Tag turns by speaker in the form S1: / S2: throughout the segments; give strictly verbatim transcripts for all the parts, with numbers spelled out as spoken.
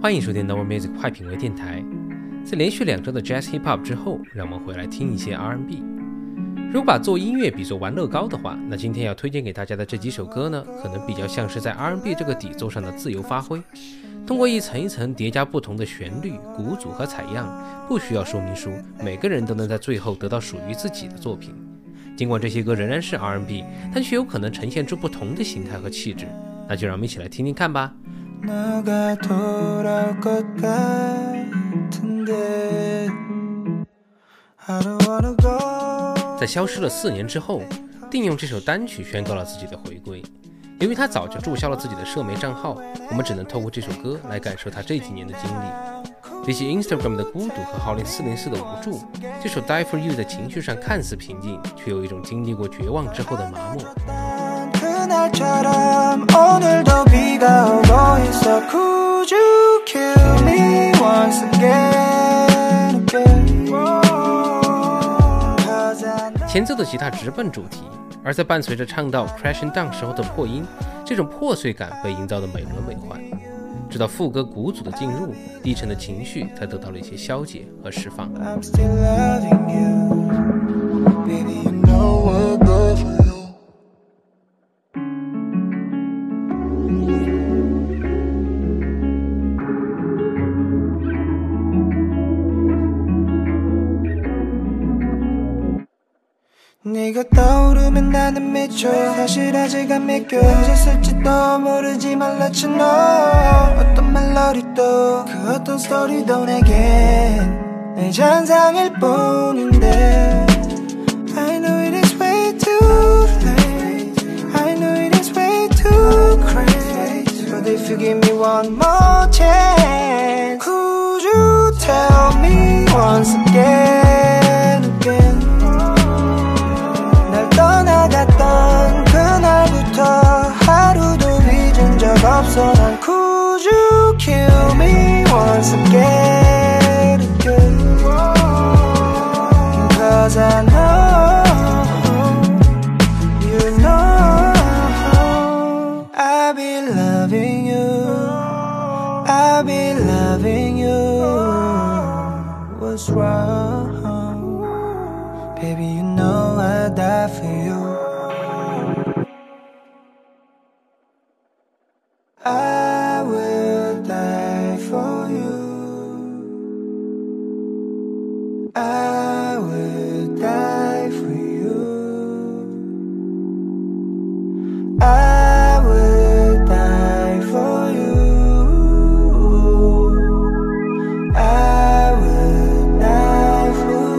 S1: 欢迎收听 Novel Music 快品味电台。在连续两周的 Jazz Hip Hop 之后，让我们回来听一些 R and B。如果把做音乐比作玩乐高的话，那今天要推荐给大家的这几首歌呢，可能比较像是在 R and B 这个底座上的自由发挥，通过一层一层叠加不同的旋律、鼓组和采样，不需要说明书，每个人都能在最后得到属于自己的作品。尽管这些歌仍然是 R and B， 但却有可能呈现出不同的形态和气质。那就让我们一起来听听看吧。在消失了四年之后，定用这首单曲宣告了自己的回归。由于他早就注销了自己的社媒账号，我们只能透过这首歌来感受他这几年的经历。比起 Instagram 的孤独和号令四零四的无助，这首 Die For You 在情绪上看似平静，却有一种经历过绝望之后的麻木。前奏的吉他直奔主题，而在伴随着唱到 crashing down 时候的破音，这种破碎感被营造的美轮美奂。直到副歌鼓组的进入，低沉的情绪才得到了一些消解和释放。
S2: 네가 떠오르면 나는 미쳐 사실 아직 안 믿겨 언제쓸지도 모르지 말랐지 너 어떤 멜로디도 그 어떤 스토리도 내겐 내 잔상일 뿐인데 I know it is way too late I know it is way too crazy But if you give me one more chance Could you tell me once again again 떠나갔던 그날부터 하루도 잊은 적 없어 난 Could you kill me once again, again Cause I know, you know I'll be loving you I'll be loving you What's wrong Baby you know I'd die for you I will die for you I will die for you I will die for you I will die for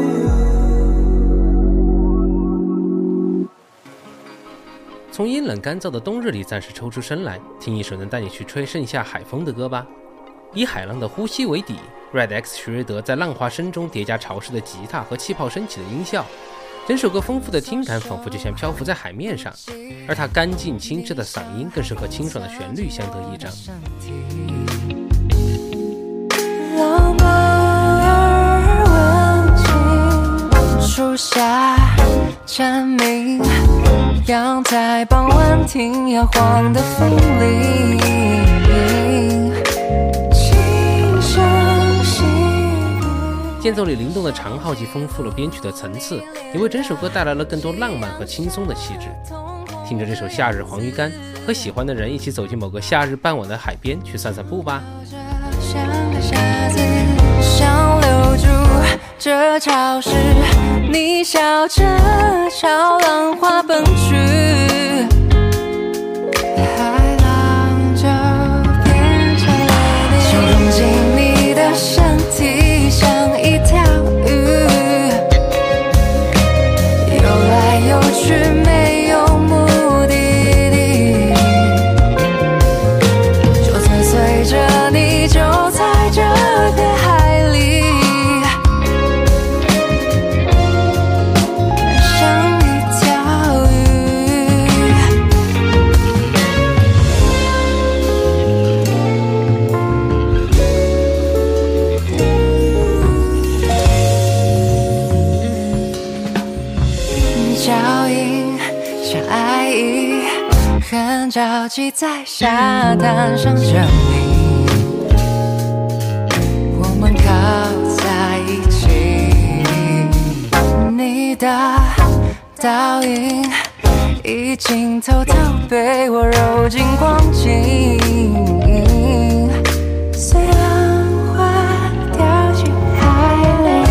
S2: you
S1: 从阴冷干燥的冬日里暂时抽出身来，听一首能带你去吹盛夏海风的歌吧。以海浪的呼吸为底， Red X 徐瑞德在浪花声中叠加潮湿的吉他和气泡升起的音效，整首歌丰富的听感仿佛就像漂浮在海面上，而他干净清澈的嗓音更是和清爽的旋律相得益彰。
S3: 老猫儿闻情树下蝉鸣，阳台傍晚听摇晃的风铃，轻声细语。
S1: 间奏里灵动的长号既丰富了编曲的层次，也为整首歌带来了更多浪漫和轻松的气质。听着这首夏日黄鱼干，和喜欢的人一起走进某个夏日傍晚的海边去散散步吧。
S3: 像个傻子想留住这潮湿，你笑着朝浪花奔去，海浪就变成了你，就融进你的身体，像一条鱼，游来游去没有目的地，就算随着你就在这片海里，像一条鱼。脚印像爱意，很着急在沙滩上证明。 在一起。你的倒影已经偷偷被我揉进光景，虽然花掉进海里。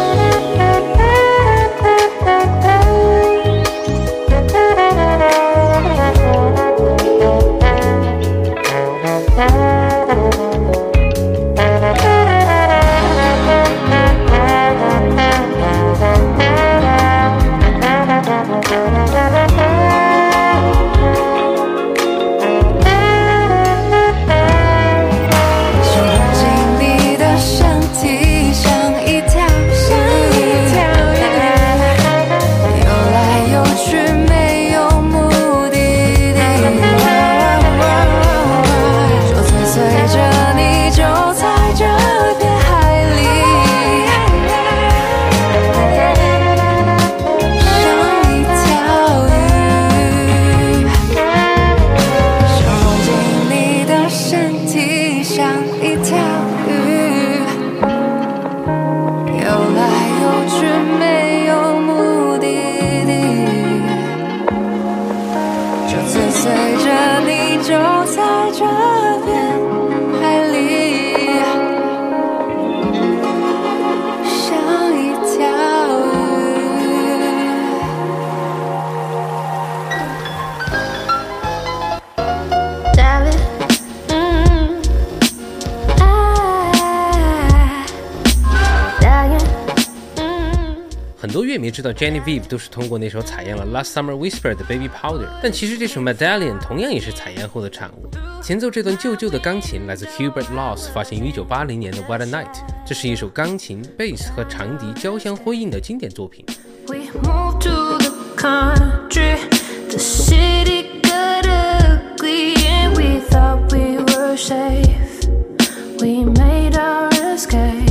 S1: 很多乐迷知道 Genevieve 都是通过那首采样了 Last Summer Whisper 的 Baby Powder， 但其实这首 Medallion 同样也是采样后的产物。前奏这段旧旧的钢琴来自 Hubert Laws 发行于一九八零年的 What a Night， 这是一首钢琴、贝斯和长笛交相辉映的经典作品。
S4: We moved to the country, the city got ugly, and we thought we were safe. We made our escape.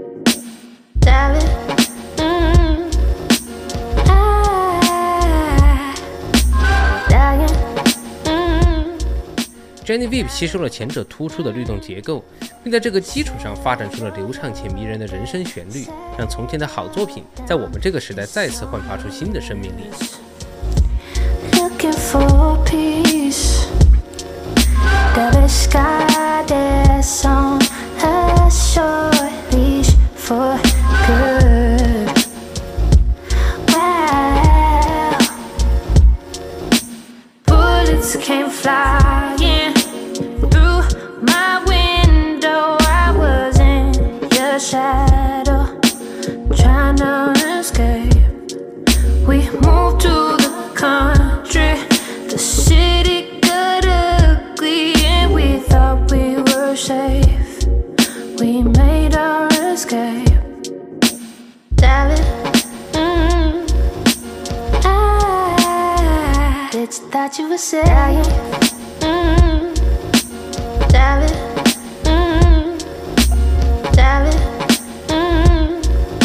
S4: Darling, mm, I, darling, mm.
S1: Genevieve 吸收了前者突出的律动结构，并在这个基础上发展出了流畅且迷人的人声旋律，让从前的好作品在我们这个时代再次焕发出新的生命力。
S4: Looking for peace, the sky that's on a short leash for good. Wow, bullets came flying through my window. I was in your shadow, trying to escape. We moved to the country, the city got ugly, and we thought we were safe. We made our escape. Darling, mm, I did you thought you were safe. Mm, darling, mm, darling, mm,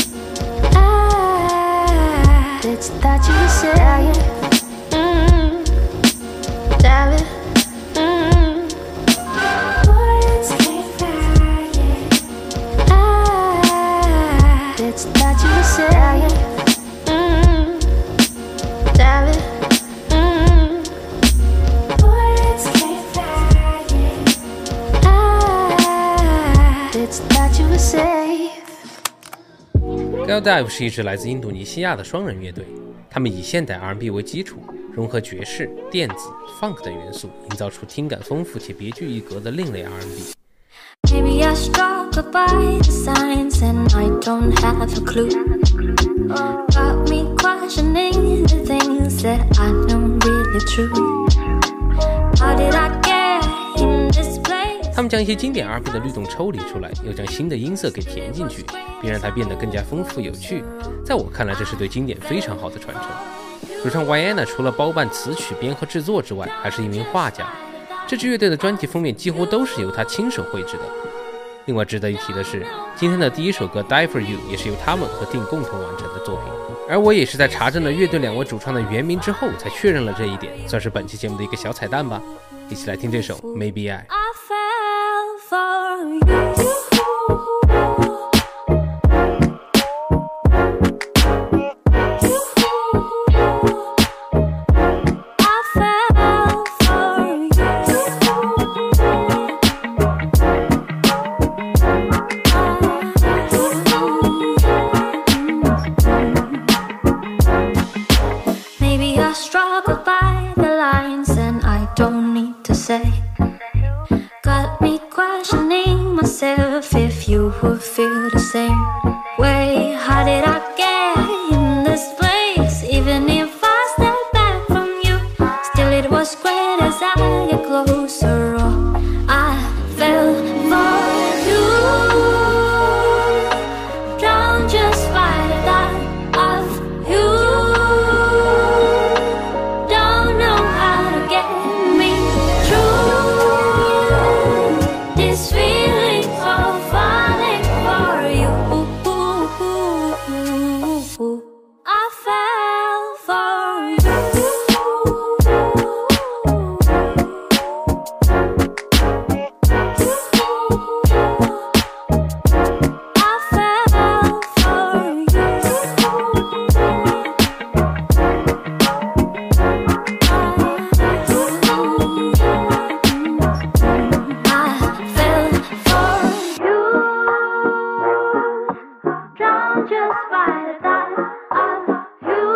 S4: I did you thought you were safe. Mm, darling, mm, bullets came flying. I did you thought you were safe. Mm, darling, mm, bullets came flying. I did you thought you were safe.
S1: Galdive 是一支来自印度尼西亚的双人乐队，他们以现代 R and B 为基础，融合爵士、电子、funk 等元素，营造出听感丰富且别具一格的另类 R and B。
S4: Maybe I struck by the signs and I don't have a clue. Got me questioning the things that I know really true. How did I get in this place?
S1: 他们将一些经典 R and B 的律动抽离出来，又将新的音色给填进去，并让它变得更加丰富有趣。在我看来，这是对经典非常好的传承。主唱 Vienna 除了包办词曲编和制作之外，还是一名画家。这支乐队的专辑封面几乎都是由他亲手绘制的。另外值得一提的是，今天的第一首歌 Die For You 也是由他们和定共同完成的作品。而我也是在查证了乐队两位主创的原名之后，才确认了这一点，算是本期节目的一个小彩蛋吧。一起来听这首 Maybe I。
S4: I fell for you. myself if you would feel the same way. How did I get in this place? Even if I step back from you, still it was great as I get closer. Oh, I fell for you, drowned just by the thought of you. Don't know how to get me through this feeling of falling for you. I fell for you. I fell for drowned just by the thought of you.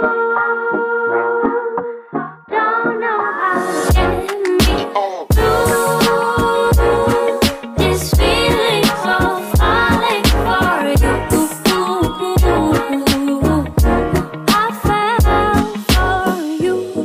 S4: Don't know how to get me through this feeling of falling for you. I fell for you.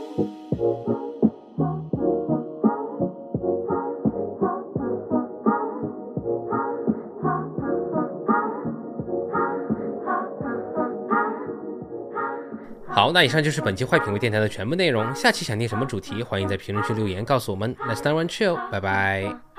S1: 好，那以上就是本期坏品味电台的全部内容。下期想听什么主题，欢迎在评论区留言告诉我们。Let's start one chill， 拜拜。